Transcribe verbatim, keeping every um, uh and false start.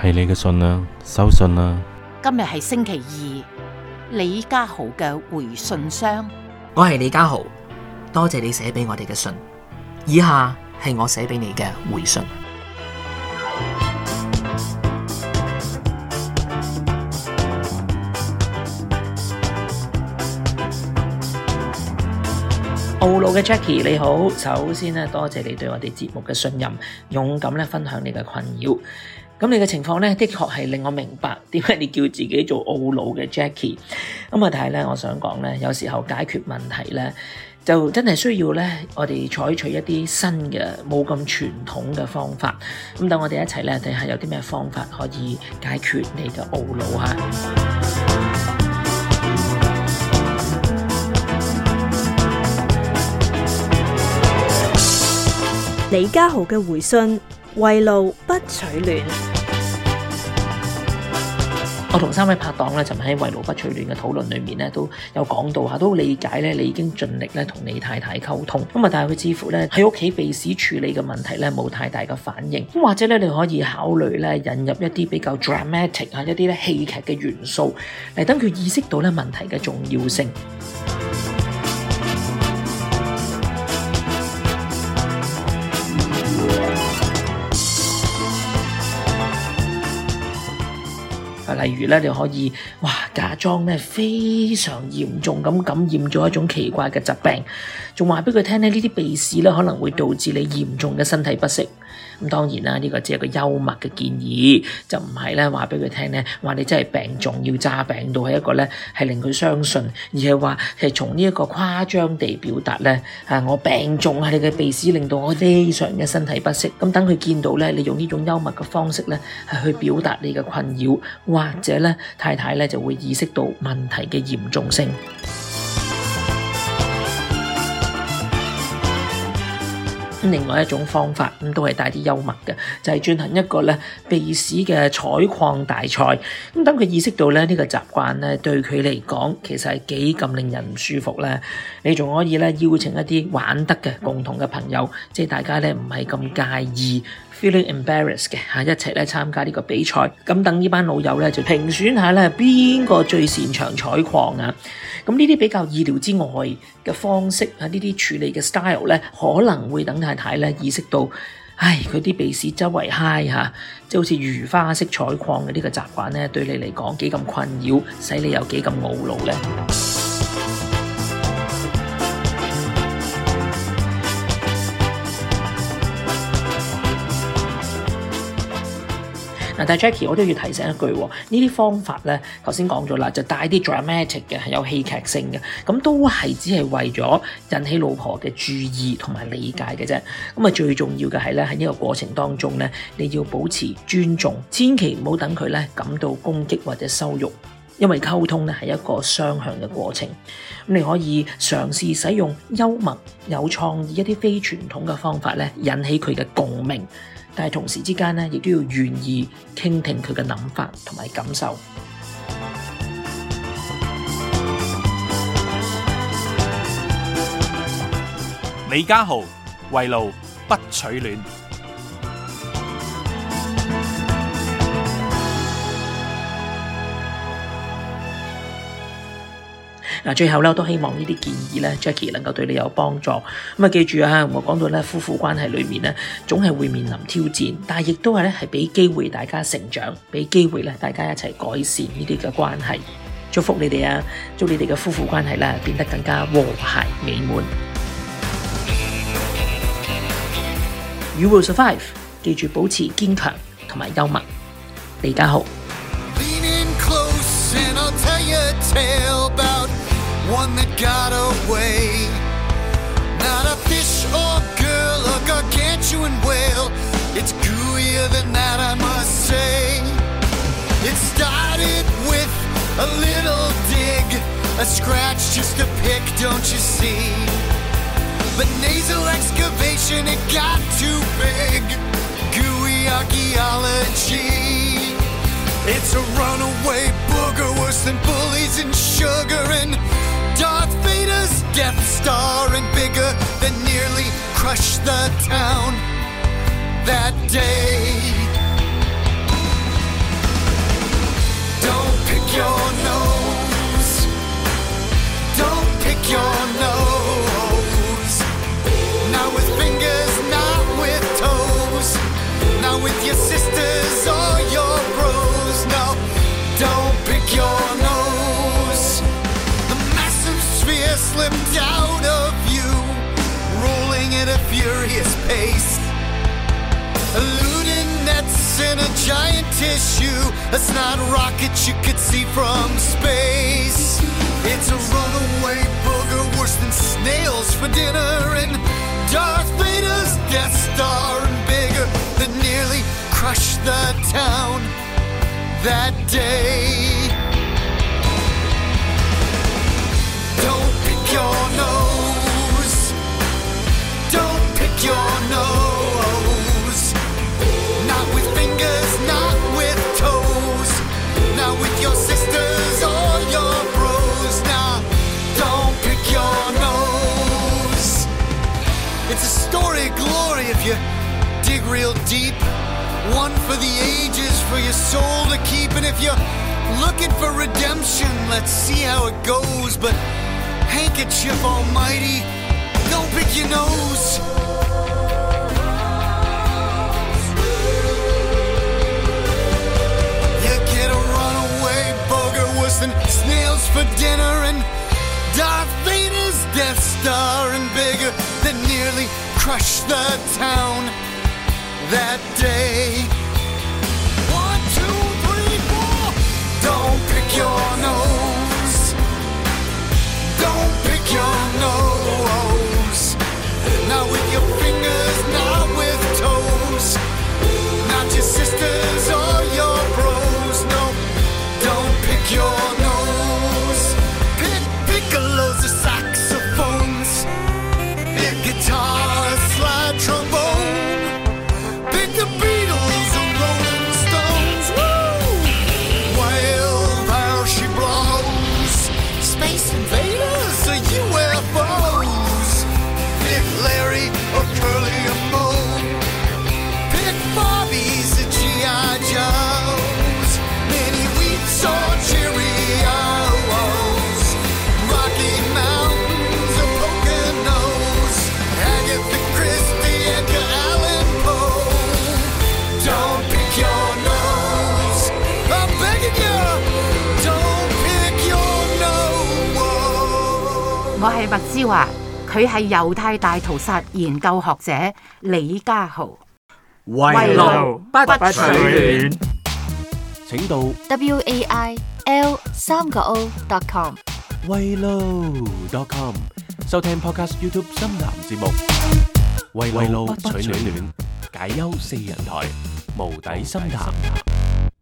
係你嘅信啦，收信啦。 今日係星期二，李家豪嘅回信箱。 我係李家豪，多謝你寫俾我哋嘅信。以下係我寫俾你嘅回信。澳路嘅 Jackie 你好，首先咧多謝你對我哋節目嘅信任，勇敢咧分享你嘅困擾。咁你嘅情況咧的確係令我明白點解你叫自己做澳路嘅 Jackie。咁啊，但係咧我想講咧，有時候解決問題咧就真係需要咧我哋採取一啲新嘅冇咁傳統嘅方法。咁等我哋一齊咧睇下有啲咩方法可以解決你嘅澳路吓。 李家豪嘅回信：圍爐不取暖。 我同三位拍檔咧，就喺圍爐不取暖嘅討論裏面咧，都有講到吓，都理解咧，你已經盡力咧同你太太溝通，咁啊，但係佢似乎咧喺屋企鼻屎處理嘅問題咧冇太大嘅反應，咁或者咧你可以考慮咧引入一啲比較 dramatic 啊，一啲咧戲劇嘅元素嚟等佢意識到咧問題嘅重要性。例如咧，你可以哇假裝咧非常嚴重咁感染咗一種奇怪嘅疾病，仲話俾佢聽咧呢啲鼻屎咧可能會導致你嚴重嘅身體不適。咁當然啦，呢個只係個幽默嘅建議，就唔係咧話俾佢聽咧話你真係病重要詐病到係一個咧係令佢相信，而係話係從呢一個誇張地表達咧啊我病重係你嘅鼻屎令到我非常嘅身體不適。咁等佢見到咧你用呢種幽默嘅方式咧係去表達你嘅困擾，或者咧太太咧就會意識到問題嘅嚴重性。另外一種方法咁都係帶啲幽默嘅，就係進行一個咧鼻屎嘅採礦大賽。咁等佢意識到咧呢個習慣咧對佢嚟講其實係幾咁令人唔舒服咧。你仲可以咧邀請一啲玩得嘅共同嘅朋友，即係大家咧唔係咁介意 feeling embarrassed 嘅嚇，一齊咧參加呢個比賽。咁等呢班老友咧就評選下咧邊個最擅長採礦啊！咁呢啲比較意料之外嘅方式啊，呢啲處理嘅 style 咧，可能會等太太咧意識到，唉，佢啲鼻屎周圍揩嚇，即係好似如花式採礦嘅呢個習慣咧，對你嚟講幾咁困擾，使你有幾咁懊惱咧。但係 Jackie 我都要提醒一句，呢啲方法咧，頭先講咗啦，就帶啲 dramatic 嘅，係有戲劇性嘅，咁都係只係為咗引起老婆嘅注意同埋理解嘅啫。咁啊，最重要嘅係咧喺呢個過程當中咧，你要保持尊重，千祈唔好等佢咧感到攻擊或者羞辱，因為溝通咧係一個雙向嘅過程。咁你可以嘗試使用幽默、有創意一啲非傳統嘅方法咧，引起佢嘅共鳴。但係同時之間咧，亦都要願意傾聽佢嘅諗法同埋感受。 李家豪，圍爐不取暖。 嗱，最後咧，我都希望呢啲建議咧 ，Jackie 能夠對你有幫助。咁啊，記住啊，我講到咧，夫婦關係裏面咧，總係會面臨挑戰，但係亦都係咧，係俾機會大家成長，俾機會咧，大家一齊改善呢啲嘅關係。祝福你哋啊，祝你哋嘅夫婦關係咧變得更加和諧美滿。You will survive， 記住保持堅強同埋幽默。李家豪。 One that got away, not a fish or girl, a gargantuan whale. It's gooier than that, I must say. It started with a little dig, a scratch, just a pick, don't you see? But nasal excavation, it got too big. Gooey archaeology. It's a runaway booger, worse than bullies and sugar, and Darth Vader's Death Star, and bigger than nearly crushed the town that day. your nose. Don't pick your nose. Not with fingers, not with toes. Not with your sisters or your bros. No, don't pick your nose. The massive sphere slipped out of you, rolling at a furious pace. Eluding nets in a giant tissue, a snot rocket you could see from space. It's a runaway booger worse than snails for dinner, and Darth Vader's Death Star and bigger that nearly crushed the town that day. Don't pick your nose. Don't pick your nose. Not with fingers, not with toes. Not with your sisters or your bros. Nah, don't pick your nose. It's a story of glory if you dig real deep. One for the ages, for your soul to keep. And if you're looking for redemption, let's see how it goes. But handkerchief almighty, don't pick your nose. You get a runaway booger worse than snails for dinner, and Darth Vader's Death Star and bigger that nearly crushed the town that day. One, two, three, four. Don't pick your nose. Don't pick your nose. Not with your fingers, not with toes. Not your sisters or your bros. No, don't pick your nose. Pick piccolos or saxophones. Pick guitars, slide trombone. Pick the Beatles or Rolling Stones. Woo! Wild how she blows. Space invaders or U F Os. Pick Larry or Curly or Moe. Pick Barbies or G I Joes. Mini Wheats or Cheerios. Rocky Mountains or Poconos. Agatha Christie, Edgar Allan Poe. Don't pick your nose. I'm begging you. Don't pick your nose. 我係麥之華，佢係猶太大屠殺研究學者李家豪。 圍爐不取暖， 請到 W A I L 三個 O dot com 圍爐 dot com 收聽 Podcast YouTube 深談節目。圍爐不取暖，解憂四人台，無底深談。